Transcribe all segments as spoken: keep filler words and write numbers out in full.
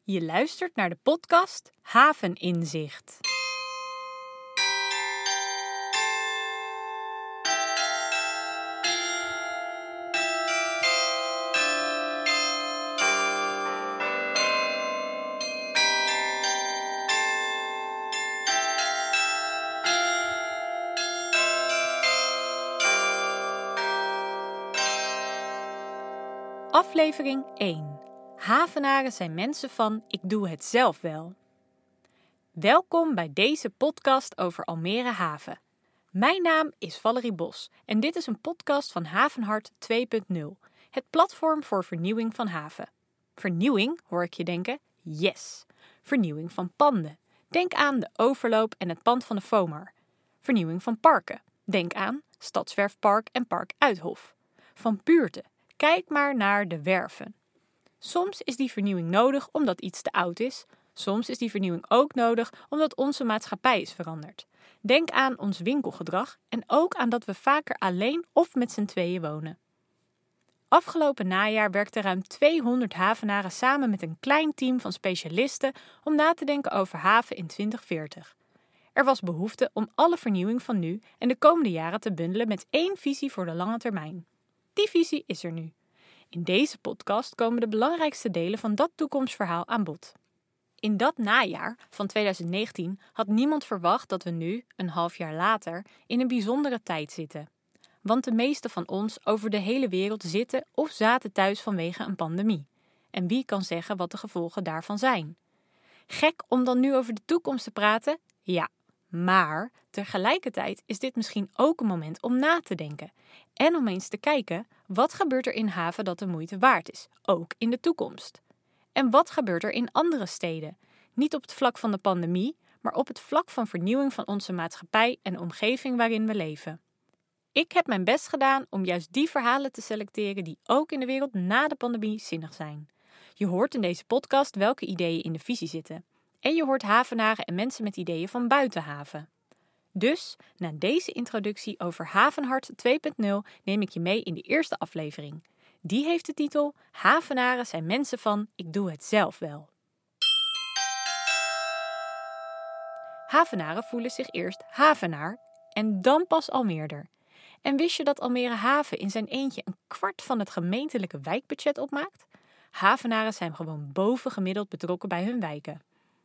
Je luistert naar de podcast Haveninzicht. Aflevering één. Havenaren zijn mensen van ik doe het zelf wel. Welkom bij deze podcast over Almere Haven. Mijn naam is Valerie Bos en dit is een podcast van Havenhart twee punt nul. Het platform voor vernieuwing van haven. Vernieuwing, hoor ik je denken? Yes! Vernieuwing van panden. Denk aan de overloop en het pand van de FOMAR. Vernieuwing van parken. Denk aan Stadswerfpark en Park Uithof. Van buurten. Kijk maar naar de werven. Soms is die vernieuwing nodig omdat iets te oud is. Soms is die vernieuwing ook nodig omdat onze maatschappij is veranderd. Denk aan ons winkelgedrag en ook aan dat we vaker alleen of met z'n tweeën wonen. Afgelopen najaar werkten ruim tweehonderd havenaren samen met een klein team van specialisten om na te denken over haven in twintig veertig. Er was behoefte om alle vernieuwing van nu en de komende jaren te bundelen met één visie voor de lange termijn. Die visie is er nu. In deze podcast komen de belangrijkste delen van dat toekomstverhaal aan bod. In dat najaar van twintig negentien had niemand verwacht dat we nu, een half jaar later, in een bijzondere tijd zitten. Want de meeste van ons over de hele wereld zitten of zaten thuis vanwege een pandemie. En wie kan zeggen wat de gevolgen daarvan zijn? Gek om dan nu over de toekomst te praten? Ja. Maar tegelijkertijd is dit misschien ook een moment om na te denken. En om eens te kijken, wat gebeurt er in haven dat de moeite waard is, ook in de toekomst? En wat gebeurt er in andere steden? Niet op het vlak van de pandemie, maar op het vlak van vernieuwing van onze maatschappij en de omgeving waarin we leven. Ik heb mijn best gedaan om juist die verhalen te selecteren die ook in de wereld na de pandemie zinnig zijn. Je hoort in deze podcast welke ideeën in de visie zitten. En je hoort havenaren en mensen met ideeën van buiten haven. Dus, na deze introductie over Havenhart twee punt nul neem ik je mee in de eerste aflevering. Die heeft de titel Havenaren zijn mensen van ik doe het zelf wel. Havenaren voelen zich eerst havenaar en dan pas Almeerder. En wist je dat Almere Haven in zijn eentje een kwart van het gemeentelijke wijkbudget opmaakt? Havenaren zijn gewoon bovengemiddeld betrokken bij hun wijken.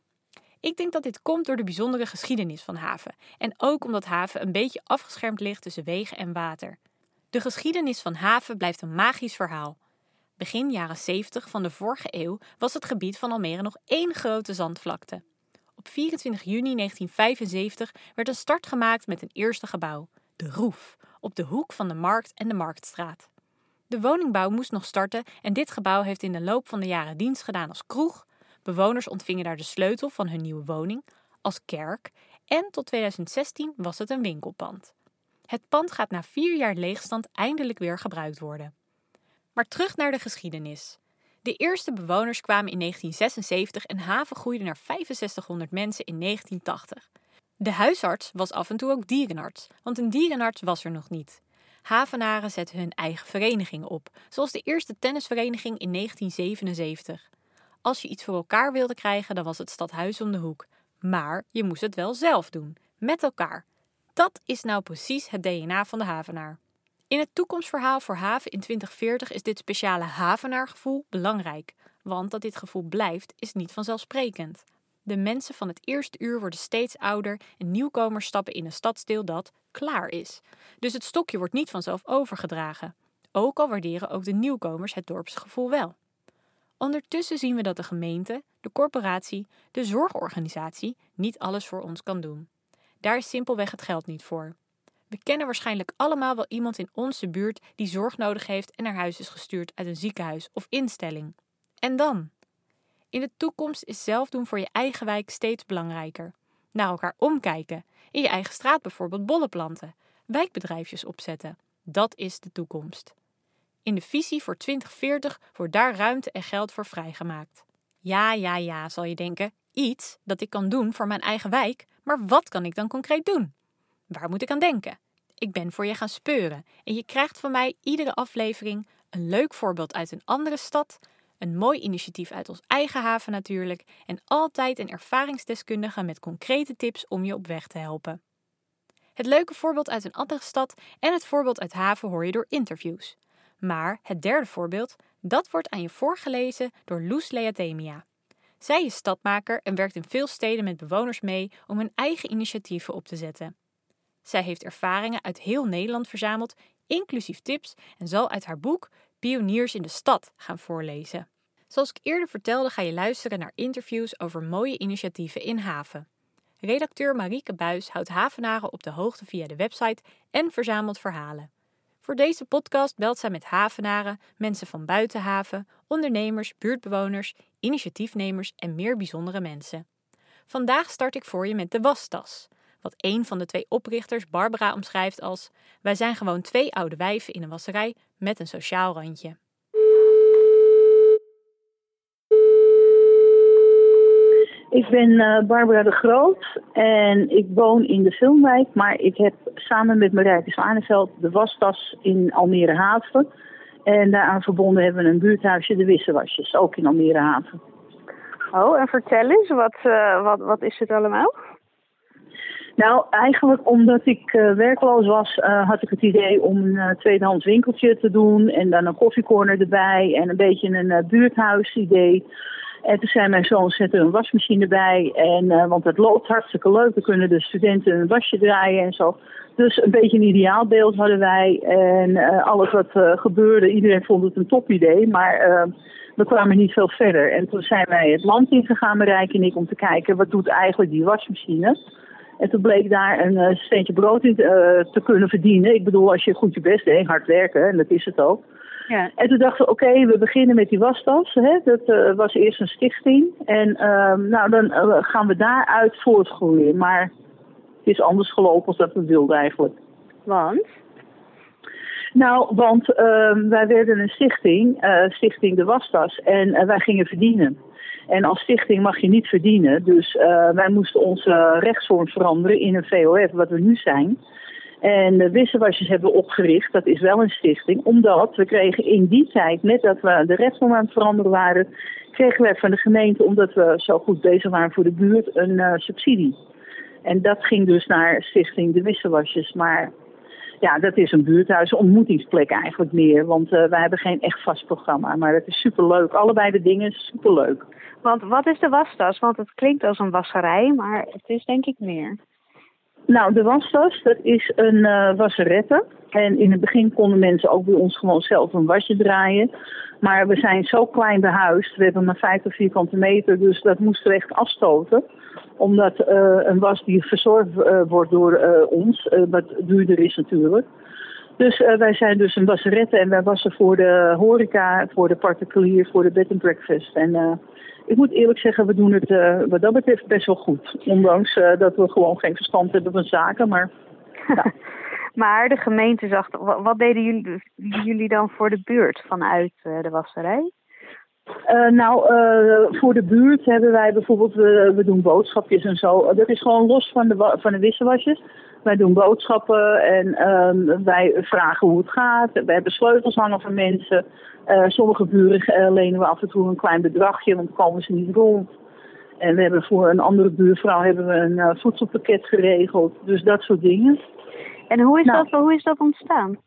Ik denk dat dit komt door de bijzondere geschiedenis van haven en ook omdat haven een beetje afgeschermd ligt tussen wegen en water. De geschiedenis van haven blijft een magisch verhaal. Begin jaren zeventig van de vorige eeuw was het gebied van Almere nog één grote zandvlakte. Op vierentwintig juni negentien vijfenzeventig werd een start gemaakt met een eerste gebouw, de Roef, op de hoek van de Markt en de Marktstraat. De woningbouw moest nog starten en dit gebouw heeft in de loop van de jaren dienst gedaan als kroeg. Bewoners ontvingen daar de sleutel van hun nieuwe woning, als kerk en tot twintig zestien was het een winkelpand. Het pand gaat na vier jaar leegstand eindelijk weer gebruikt worden. Maar terug naar de geschiedenis. De eerste bewoners kwamen in negentien zesenzeventig en haven groeide naar vijfenzestighonderd mensen in negentien tachtig. De huisarts was af en toe ook dierenarts, want een dierenarts was er nog niet. Havenaren zetten hun eigen verenigingen op, zoals de eerste tennisvereniging in negentien zevenenzeventig. Als je iets voor elkaar wilde krijgen, dan was het stadhuis om de hoek. Maar je moest het wel zelf doen, met elkaar. Dat is nou precies het D N A van de havenaar. In het toekomstverhaal voor haven in twintig veertig is dit speciale havenaargevoel belangrijk. Want dat dit gevoel blijft, is niet vanzelfsprekend. De mensen van het eerste uur worden steeds ouder en nieuwkomers stappen in een stadsdeel dat klaar is. Dus het stokje wordt niet vanzelf overgedragen. Ook al waarderen ook de nieuwkomers het dorpsgevoel wel. Ondertussen zien we dat de gemeente, de corporatie, de zorgorganisatie niet alles voor ons kan doen. Daar is simpelweg het geld niet voor. We kennen waarschijnlijk allemaal wel iemand in onze buurt die zorg nodig heeft en naar huis is gestuurd uit een ziekenhuis of instelling. En dan? In de toekomst is zelf doen voor je eigen wijk steeds belangrijker. Naar elkaar omkijken, in je eigen straat bijvoorbeeld bollen planten, wijkbedrijfjes opzetten. Dat is de toekomst. In de visie voor twintig veertig wordt daar ruimte en geld voor vrijgemaakt. Ja, ja, ja, zal je denken, iets dat ik kan doen voor mijn eigen wijk, maar wat kan ik dan concreet doen? Waar moet ik aan denken? Ik ben voor je gaan speuren en je krijgt van mij iedere aflevering een leuk voorbeeld uit een andere stad, Een mooi initiatief uit ons eigen haven natuurlijk en altijd een ervaringsdeskundige met concrete tips om je op weg te helpen. Het leuke voorbeeld uit een andere stad en het voorbeeld uit haven hoor je door interviews. Maar het derde voorbeeld, dat wordt aan je voorgelezen door Loes Leatemia. Zij is stadmaker en werkt in veel steden met bewoners mee om hun eigen initiatieven op te zetten. Zij heeft ervaringen uit heel Nederland verzameld, inclusief tips, en zal uit haar boek Pioniers in de Stad gaan voorlezen. Zoals ik eerder vertelde ga je luisteren naar interviews over mooie initiatieven in haven. Redacteur Marieke Buijs houdt havenaren op de hoogte via de website en verzamelt verhalen. Voor deze podcast belt zij met havenaren, mensen van buiten haven, ondernemers, buurtbewoners, initiatiefnemers en meer bijzondere mensen. Vandaag start ik voor je met de wastas. Wat een van de twee oprichters, Barbara, omschrijft als: wij zijn gewoon twee oude wijven in een wasserij met een sociaal randje. Ik ben uh, Barbara de Groot en ik woon in de Filmwijk, maar ik heb samen met Marijke Zwaneveld de wastas in Almere Haven. En daaraan verbonden hebben we een buurthuisje, de Wissewasjes, ook in Almere Haven. Oh, en vertel eens, wat, uh, wat, wat is het allemaal? Nou, eigenlijk omdat ik uh, werkloos was, uh, had ik het idee om een uh, tweedehands winkeltje te doen en dan een koffiecorner erbij en een beetje een uh, buurthuisidee. En toen zei mijn zoon, zet er een wasmachine bij, en, uh, want het loopt hartstikke leuk. Dan kunnen de studenten een wasje draaien en zo. Dus een beetje een ideaalbeeld hadden wij. En uh, alles wat uh, gebeurde, iedereen vond het een topidee, maar uh, we kwamen niet veel verder. En toen zijn wij het land ingegaan, Marijke en ik, om te kijken, wat doet eigenlijk die wasmachine? En toen bleek daar een uh, steentje brood in uh, te kunnen verdienen. Ik bedoel, als je goed je best deed, hard werken, en dat is het ook. Ja. En toen dachten we, oké, okay, we beginnen met die wastas. Hè? Dat uh, was eerst een stichting. En uh, nou, dan uh, gaan we daaruit voortgroeien. Maar het is anders gelopen dan dat we wilden eigenlijk. Want? Nou, want uh, wij werden een stichting, uh, Stichting de Wastas. En uh, wij gingen verdienen. En als stichting mag je niet verdienen. Dus uh, wij moesten onze rechtsvorm veranderen in een V O F, wat we nu zijn. En de Wissewasjes hebben we opgericht, dat is wel een stichting, omdat we kregen in die tijd, net dat we de rechtsvorm aan het veranderen waren, kregen wij van de gemeente, omdat we zo goed bezig waren voor de buurt, een uh, subsidie. En dat ging dus naar stichting de Wissewasjes. Maar ja, dat is een buurthuis, een ontmoetingsplek eigenlijk meer, want uh, wij hebben geen echt vast programma. Maar het is superleuk, allebei de dingen superleuk. Want wat is de wastas? Want het klinkt als een wasserij, maar het is denk ik meer. Nou, de wastas, dat is een uh, wasserette. En in het begin konden mensen ook bij ons gewoon zelf een wasje draaien. Maar we zijn zo klein behuisd, we hebben maar vijftig vierkante meter, dus dat moesten we echt afstoten. Omdat uh, een was die verzorgd uh, wordt door uh, ons, uh, wat duurder is natuurlijk. Dus uh, wij zijn dus een wasserette en wij wassen voor de horeca, voor de particulier, voor de bed and breakfast. En uh, ik moet eerlijk zeggen, we doen het uh, wat dat betreft best wel goed. Ondanks uh, dat we gewoon geen verstand hebben van zaken, maar... Ja. Maar de gemeente zag, wat deden jullie, jullie dan voor de buurt vanuit uh, de wasserij? Uh, nou, uh, voor de buurt hebben wij bijvoorbeeld, uh, we doen boodschapjes en zo. Dat is gewoon los van de, van de Wissewasjes. Wij doen boodschappen en um, wij vragen hoe het gaat. We hebben sleutels hangen van mensen. Uh, sommige buren uh, lenen we af en toe een klein bedragje, want dan komen ze niet rond. En we hebben voor een andere buurvrouw hebben we een uh, voedselpakket geregeld. Dus dat soort dingen. En hoe is, nou, dat, hoe is dat ontstaan?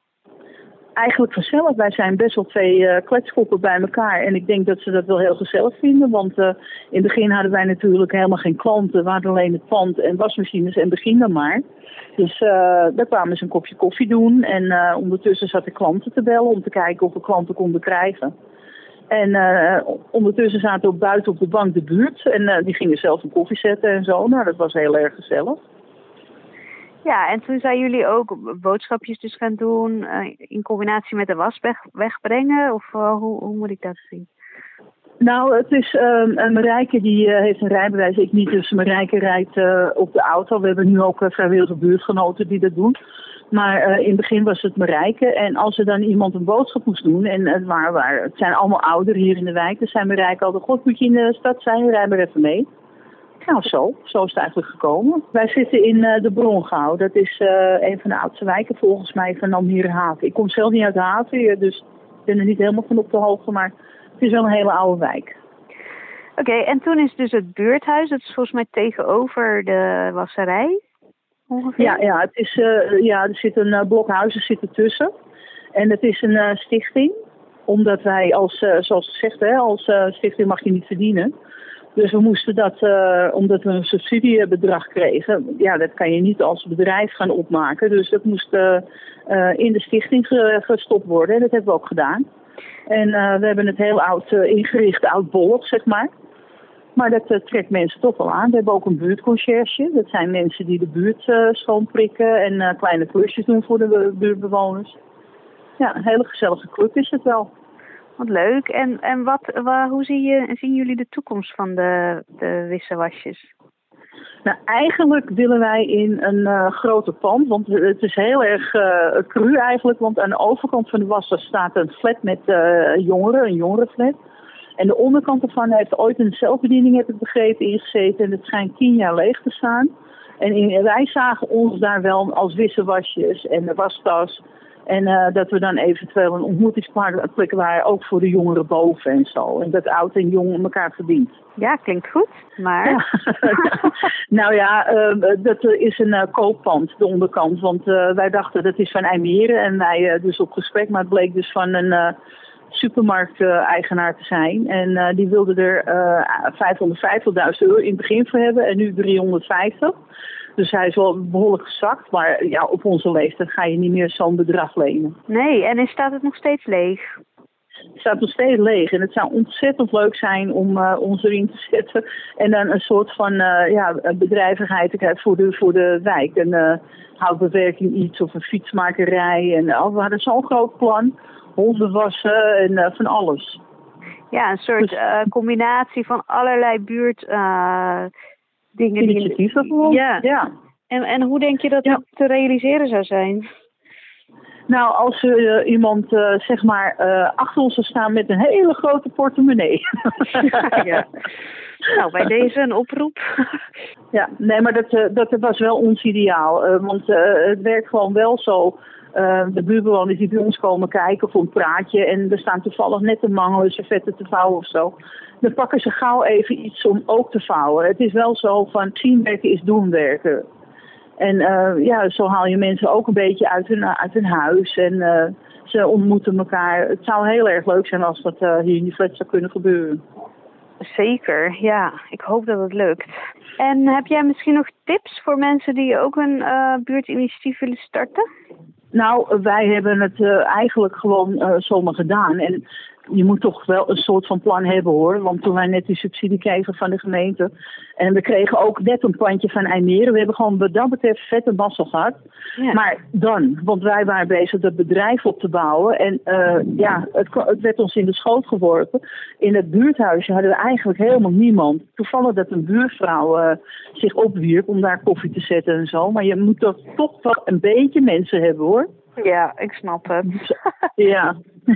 Eigenlijk gezellig. Wij zijn best wel twee uh, kletskoppen bij elkaar. En ik denk dat ze dat wel heel gezellig vinden. Want uh, in het begin hadden wij natuurlijk helemaal geen klanten. We hadden alleen het pand en wasmachines en begin dan maar. Dus uh, daar kwamen ze een kopje koffie doen. En uh, ondertussen zat ik klanten te bellen om te kijken of we klanten konden krijgen. En uh, ondertussen zaten we buiten op de bank de buurt. En uh, die gingen zelf een koffie zetten en zo. Nou, dat was heel erg gezellig. Ja, en toen zijn jullie ook boodschapjes dus gaan doen uh, in combinatie met de was weg, wegbrengen? Of uh, hoe, hoe moet ik dat zien? Nou, het is uh, Marijke die uh, heeft een rijbewijs, ik niet. Dus Marijke rijdt uh, op de auto. We hebben nu ook uh, vrijwillige buurtgenoten die dat doen. Maar uh, in het begin was het Marijke. En als er dan iemand een boodschap moest doen, en het, waren, waren, het zijn allemaal ouderen hier in de wijk, dan zijn Marijke altijd, god, moet je in de stad zijn, rij maar even mee. Nou, zo. Zo is het eigenlijk gekomen. Wij zitten in uh, de Brongouw. Dat is uh, een van de oudste wijken volgens mij van Almere Haven. Ik kom zelf niet uit de haven, dus ik ben er niet helemaal van op de hoogte. Maar Het is wel een hele oude wijk. Oké, okay, en toen is dus het buurthuis, dat is volgens mij tegenover de wasserij ongeveer? Ja, ja, het is, uh, ja er zit een uh, blok huizen zit ertussen. En het is een uh, stichting, omdat wij als, uh, zoals gezegd, hè, als uh, stichting mag je niet verdienen. Dus we moesten dat, uh, omdat we een subsidiebedrag kregen, ja, dat kan je niet als bedrijf gaan opmaken. Dus dat moest uh, uh, in de stichting ge- gestopt worden en dat hebben we ook gedaan. En uh, we hebben het heel oud uh, ingericht, oudbollig, zeg maar. Maar dat uh, trekt mensen toch wel aan. We hebben ook een buurtconciërge. Dat zijn mensen die de buurt uh, schoonprikken en uh, kleine klusjes doen voor de buurtbewoners. Ja, een hele gezellige club is het wel. Wat leuk. En, en wat, waar, hoe zie je, zien jullie de toekomst van de, de wissewasjes? Nou, eigenlijk willen wij in een uh, groter pand, want het is heel erg uh, cru eigenlijk, want aan de overkant van de wasser staat een flat met uh, jongeren, een jongerenflat. En de onderkant ervan heeft ooit een zelfbediening, heb ik begrepen, ingezeten en het schijnt tien jaar leeg te staan. En in, wij zagen ons daar wel als wissewasjes en de wastas. En uh, dat we dan eventueel een ontmoetingsplek waren, ook voor de jongeren boven en zo. En dat oud en jong elkaar verbindt. Ja, klinkt goed, maar... Ja. Nou ja, uh, dat is een uh, kooppand, de onderkant. Want uh, wij dachten dat is van IJmeren en wij uh, dus op gesprek. Maar het bleek dus van een uh, supermarkt-eigenaar te zijn. En uh, die wilde er uh, vijfhonderdvijftigduizend euro in het begin voor hebben en nu driehonderdvijftig. Dus hij is wel behoorlijk gezakt, maar ja, op onze leeftijd ga je niet meer zo'n bedrag lenen. Nee, en staat het nog steeds leeg? Het staat nog steeds leeg en het zou ontzettend leuk zijn om uh, ons erin te zetten. En dan een soort van uh, ja, bedrijvigheid te krijgen voor de, voor de wijk. Een uh, houtbewerking iets of een fietsmakerij. En uh, we hadden zo'n groot plan, honden wassen en uh, van alles. Ja, een soort dus, uh, combinatie van allerlei buurt... Uh, dingen initiatieven die... gewoon. Ja. ja. En, en hoe denk je dat ja. dat te realiseren zou zijn? Nou, als er uh, iemand uh, zeg maar uh, achter ons zou staan met een hele grote portemonnee. Ja. Nou, bij deze een oproep. Ja, nee, maar dat, uh, dat was wel ons ideaal. Uh, want uh, het werkt gewoon wel zo. Uh, de buurtbewoners die bij ons komen kijken voor een praatje en er staan toevallig net een mangel, servetten te vouwen of zo. Dan pakken ze gauw even iets om ook te vouwen. Het is wel zo van zien werken is doen werken. En uh, ja, zo haal je mensen ook een beetje uit hun, uit hun huis en uh, ze ontmoeten elkaar. Het zou heel erg leuk zijn als dat uh, hier in die flat zou kunnen gebeuren. Zeker, ja. Ik hoop dat het lukt. En heb jij misschien nog tips voor mensen die ook een uh, buurtinitiatief willen starten? Nou, wij hebben het uh, eigenlijk gewoon uh, zomaar gedaan. En je moet toch wel een soort van plan hebben hoor. Want toen wij net die subsidie kregen van de gemeente. En we kregen ook net een pandje van IJmeren. We hebben gewoon wat dat betreft vette mazzel gehad. Ja. Maar dan, want wij waren bezig dat bedrijf op te bouwen. En uh, ja, het, het werd ons in de schoot geworpen. In het buurthuisje hadden we eigenlijk helemaal niemand. Toevallig dat een buurvrouw uh, zich opwierp om daar koffie te zetten en zo. Maar je moet toch, toch wel een beetje mensen hebben hoor. Ja, ik snap het. Ja.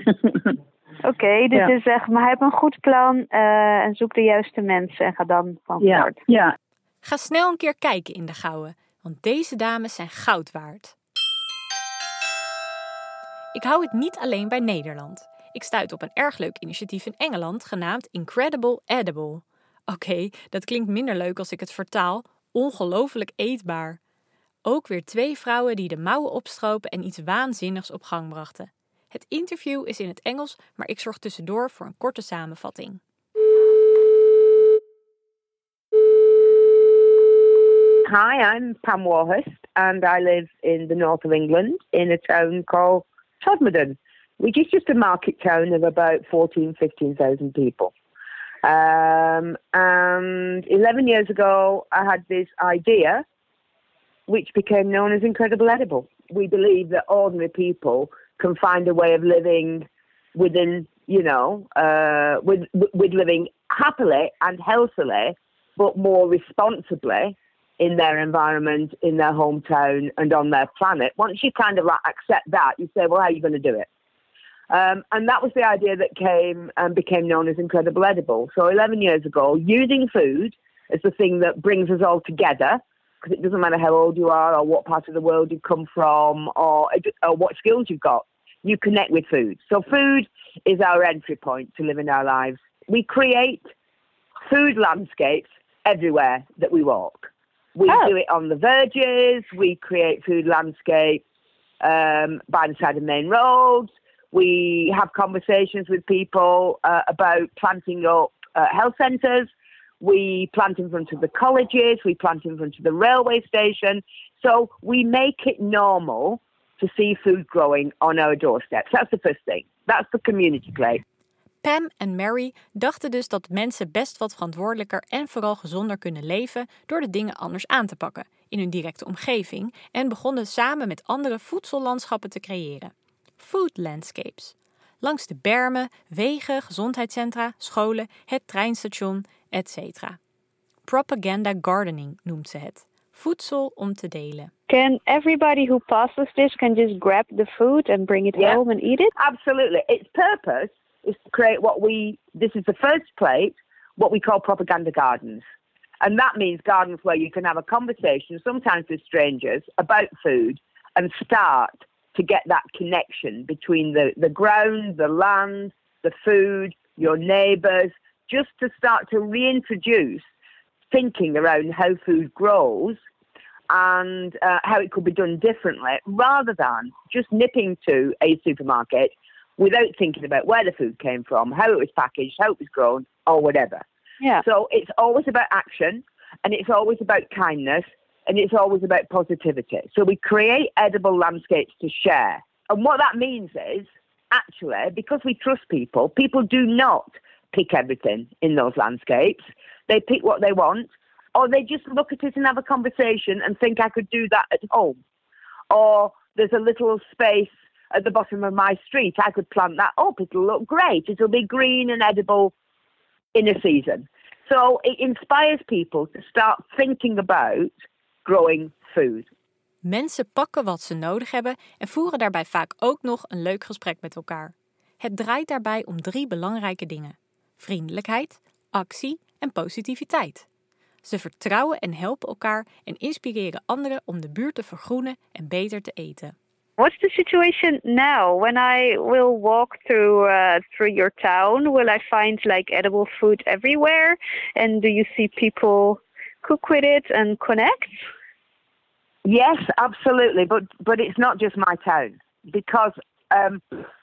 Oké, okay, dus ja. je zegt, maar heb een goed plan uh, en zoek de juiste mensen en ga dan van start. Ja. ja. Ga snel een keer kijken in de Gouwe, want deze dames zijn goud waard. Ik hou het niet alleen bij Nederland. Ik stuit op een erg leuk initiatief in Engeland genaamd Incredible Edible. Oké, okay, dat klinkt minder leuk als ik het vertaal. Ongelooflijk eetbaar. Ook weer twee vrouwen die de mouwen opstropen en iets waanzinnigs op gang brachten. Het interview is in het Engels, maar ik zorg tussendoor voor een korte samenvatting. Hi, I'm Pam Warhurst and I live in the north of England in a town called Todmorden, which is just a market town of about fourteen, fifteen thousand people. Um, and eleven years ago, I had this idea, which became known as Incredible Edible. We believe that ordinary people can find a way of living within, you know, uh, with with living happily and healthily, but more responsibly in their environment, in their hometown, and on their planet. Once you kind of like accept that, you say, well, how are you going to do it? Um, and that was the idea that came and became known as Incredible Edible. So eleven years ago, using food as the thing that brings us all together, because it doesn't matter how old you are or what part of the world you come from or, or what skills you've got. you connect with food. So food is our entry point to living our lives. We create food landscapes everywhere that we walk. We oh. do it on the verges. We create food landscapes um, by the side of main roads. We have conversations with people uh, about planting up uh, health centres. We plant in front of the colleges. We plant in front of the railway station. So we make it normal to see food growing on our doorsteps. That's the first thing. That's the community play. Pam en Mary dachten dus dat mensen best wat verantwoordelijker en vooral gezonder kunnen leven door de dingen anders aan te pakken in hun directe omgeving en begonnen samen met anderen voedsellandschappen te creëren. Food landscapes. Langs de bermen, wegen, gezondheidscentra, scholen, het treinstation, et cetera. Propaganda gardening noemt ze het. Voedsel om te delen. Can everybody who passes this can just grab the food and bring it yeah. home and eat it? Absolutely. Its purpose is to create what we, this is the first plate, what we call propaganda gardens. And that means gardens where you can have a conversation, sometimes with strangers, about food and start to get that connection between the, the ground, the land, the food, your neighbours, just to start to reintroduce thinking around how food grows and uh, how it could be done differently, rather than just nipping to a supermarket without thinking about where the food came from, how it was packaged, how it was grown, or whatever. Yeah. So it's always about action, and it's always about kindness, and it's always about positivity. So we create edible landscapes to share. And what that means is, actually, because we trust people, people do not pick everything in those landscapes. They pick what they want, or they just look at it and have a conversation and think I could do that at home. Or there's a little space at the bottom of my street, I could plant that up. It'll look great. It'll be green and edible in a season. So it inspires people to start thinking about growing food. Mensen pakken wat ze nodig hebben en voeren daarbij vaak ook nog een leuk gesprek met elkaar. Het draait daarbij om drie belangrijke dingen: vriendelijkheid, actie en positiviteit. Ze vertrouwen en helpen elkaar en inspireren anderen om de buurt te vergroenen en beter te eten. What's the situation now? When I will walk through uh, through your town, will I find like edible food everywhere? And do you see people cook with it and connect? Yes, absolutely. But but it's not just my town, because um,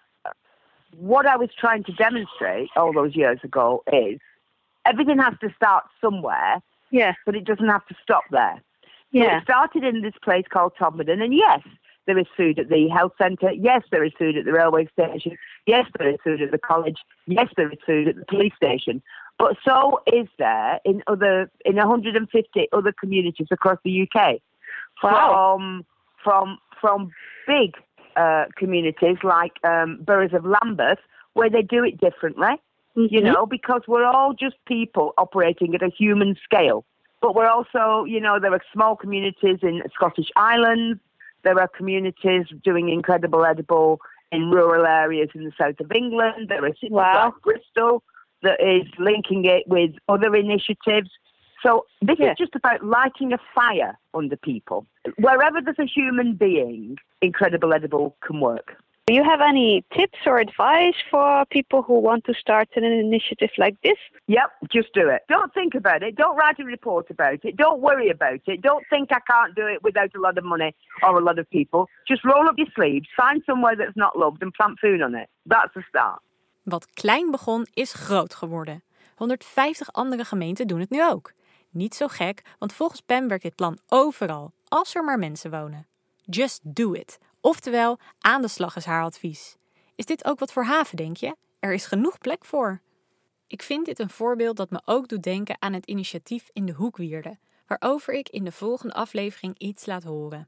what I was trying to demonstrate all those years ago is everything has to start somewhere. Yeah. But it doesn't have to stop there. So yeah. It started in this place called Todmorden, and yes, there is food at the health centre. Yes, there is food at the railway station. Yes, there is food at the college. Yes, there is food at the police station. But so is there in other in one hundred fifty other communities across the U K. Wow. From from from big uh, communities like um, boroughs of Lambeth, where they do it differently. Mm-hmm. You know, because we're all just people operating at a human scale. But we're also, you know, there are small communities in Scottish Islands. There are communities doing incredible edible in rural areas in the south of England. There are cities wow. like Bristol that is linking it with other initiatives. So this yeah. is just about lighting a fire under people. Wherever there's a human being, incredible edible can work. Do you have any tips or advice for people who want to start an initiative like this? Yep, just do it. Don't think about it. Don't write a report about it. Don't worry about it. Don't think I can't do it without a lot of money or a lot of people. Just roll up your sleeves, find somewhere that's not loved and plant food on it. That's the start. Wat klein begon, is groot geworden. honderdvijftig andere gemeenten doen het nu ook. Niet zo gek, want volgens Pam werkt dit plan overal, als er maar mensen wonen. Just do it. Oftewel, aan de slag is haar advies. Is dit ook wat voor Haven, denk je? Er is genoeg plek voor. Ik vind dit een voorbeeld dat me ook doet denken aan het initiatief in de Hoekwierde, waarover ik in de volgende aflevering iets laat horen.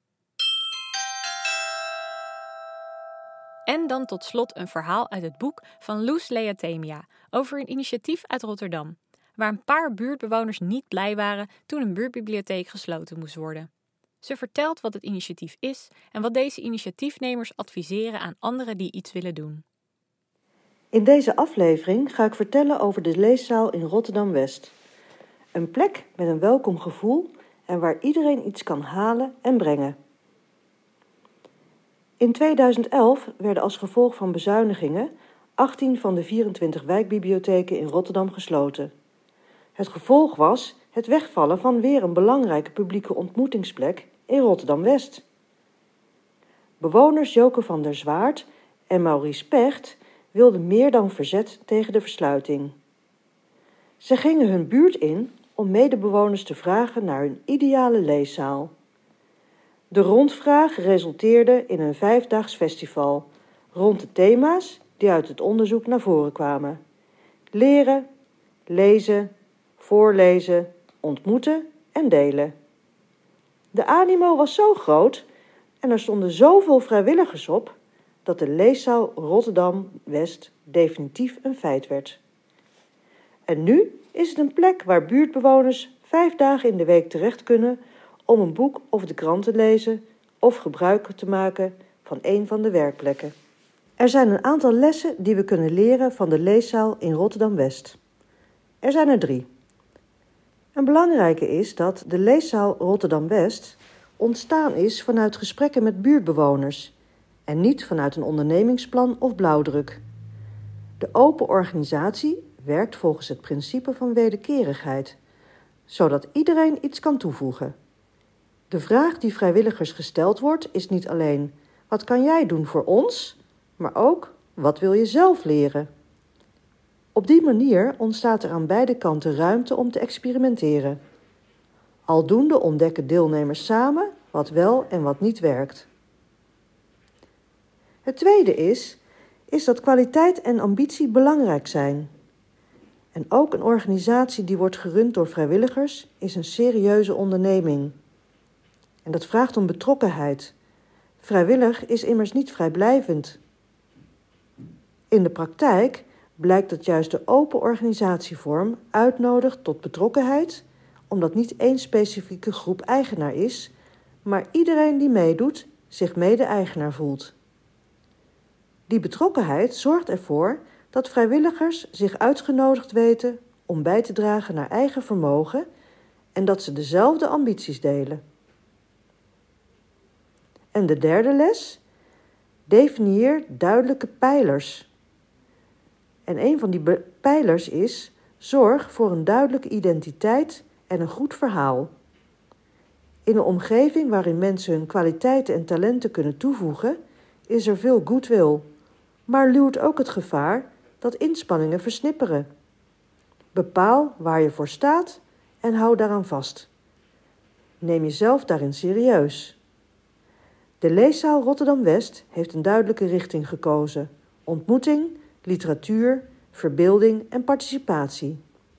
En dan tot slot een verhaal uit het boek van Loes Leathemia over een initiatief uit Rotterdam, waar een paar buurtbewoners niet blij waren toen een buurtbibliotheek gesloten moest worden. Ze vertelt wat het initiatief is en wat deze initiatiefnemers adviseren aan anderen die iets willen doen. In deze aflevering ga ik vertellen over de leeszaal in Rotterdam-West. Een plek met een welkom gevoel en waar iedereen iets kan halen en brengen. In tweeduizend elf werden als gevolg van bezuinigingen achttien van de vierentwintig wijkbibliotheken in Rotterdam gesloten. Het gevolg was het wegvallen van weer een belangrijke publieke ontmoetingsplek in Rotterdam-West. Bewoners Joke van der Zwaard en Maurice Pecht wilden meer dan verzet tegen de versluiting. Ze gingen hun buurt in om medebewoners te vragen naar hun ideale leeszaal. De rondvraag resulteerde in een vijfdaags festival rond de thema's die uit het onderzoek naar voren kwamen: leren, lezen, voorlezen, ontmoeten en delen. De animo was zo groot en er stonden zoveel vrijwilligers op dat de leeszaal Rotterdam-West definitief een feit werd. En nu is het een plek waar buurtbewoners vijf dagen in de week terecht kunnen om een boek of de krant te lezen of gebruik te maken van een van de werkplekken. Er zijn een aantal lessen die we kunnen leren van de leeszaal in Rotterdam-West. Er zijn er drie. Een belangrijke is dat de leeszaal Rotterdam-West ontstaan is vanuit gesprekken met buurtbewoners en niet vanuit een ondernemingsplan of blauwdruk. De open organisatie werkt volgens het principe van wederkerigheid, zodat iedereen iets kan toevoegen. De vraag die vrijwilligers gesteld wordt is niet alleen: wat kan jij doen voor ons? Maar ook: wat wil je zelf leren? Op die manier ontstaat er aan beide kanten ruimte om te experimenteren. Aldoende ontdekken deelnemers samen wat wel en wat niet werkt. Het tweede is, is dat kwaliteit en ambitie belangrijk zijn. En ook een organisatie die wordt gerund door vrijwilligers is een serieuze onderneming. En dat vraagt om betrokkenheid. Vrijwillig is immers niet vrijblijvend. In de praktijk blijkt dat juist de open organisatievorm uitnodigt tot betrokkenheid, omdat niet één specifieke groep eigenaar is, maar iedereen die meedoet zich mede-eigenaar voelt. Die betrokkenheid zorgt ervoor dat vrijwilligers zich uitgenodigd weten om bij te dragen naar eigen vermogen en dat ze dezelfde ambities delen. En de derde les: definieer duidelijke pijlers. En een van die be- pijlers is: zorg voor een duidelijke identiteit en een goed verhaal. In een omgeving waarin mensen hun kwaliteiten en talenten kunnen toevoegen, is er veel goodwill, maar luwt ook het gevaar dat inspanningen versnipperen. Bepaal waar je voor staat en hou daaraan vast. Neem jezelf daarin serieus. De leeszaal Rotterdam-West heeft een duidelijke richting gekozen: ontmoeting, literatuur, verbeelding en participatie.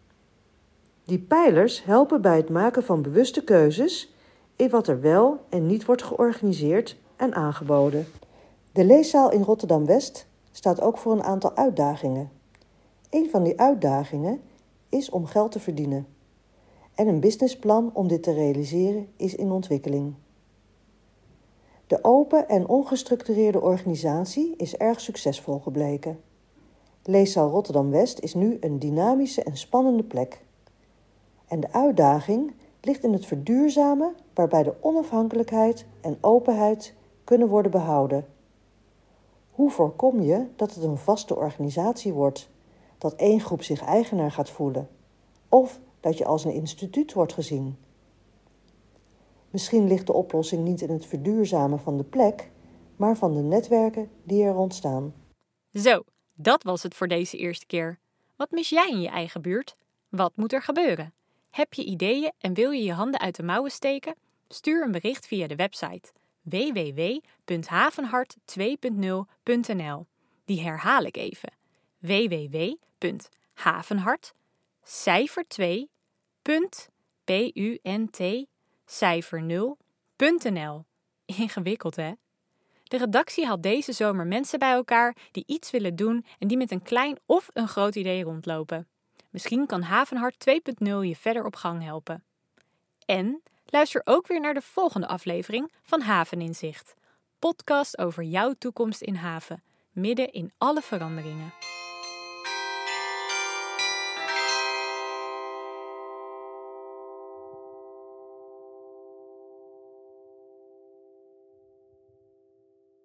Die pijlers helpen bij het maken van bewuste keuzes in wat er wel en niet wordt georganiseerd en aangeboden. De leeszaal in Rotterdam-West staat ook voor een aantal uitdagingen. Een van die uitdagingen is om geld te verdienen. En een businessplan om dit te realiseren is in ontwikkeling. De open en ongestructureerde organisatie is erg succesvol gebleken. Leeszaal Rotterdam-West is nu een dynamische en spannende plek. En de uitdaging ligt in het verduurzamen waarbij de onafhankelijkheid en openheid kunnen worden behouden. Hoe voorkom je dat het een vaste organisatie wordt, dat één groep zich eigenaar gaat voelen, of dat je als een instituut wordt gezien? Misschien ligt de oplossing niet in het verduurzamen van de plek, maar van de netwerken die er ontstaan. Zo, dat was het voor deze eerste keer. Wat mis jij in je eigen buurt? Wat moet er gebeuren? Heb je ideeën en wil je je handen uit de mouwen steken? Stuur een bericht via de website w w w punt havenhart twee punt nul punt n l. Die herhaal ik even. w w w punt havenhart cijfer twee punt p u n t cijfer nul punt n l. Ingewikkeld, hè? De redactie haalt deze zomer mensen bij elkaar die iets willen doen en die met een klein of een groot idee rondlopen. Misschien kan Havenhart twee punt nul je verder op gang helpen. En luister ook weer naar de volgende aflevering van Haveninzicht. Podcast over jouw toekomst in haven, midden in alle veranderingen.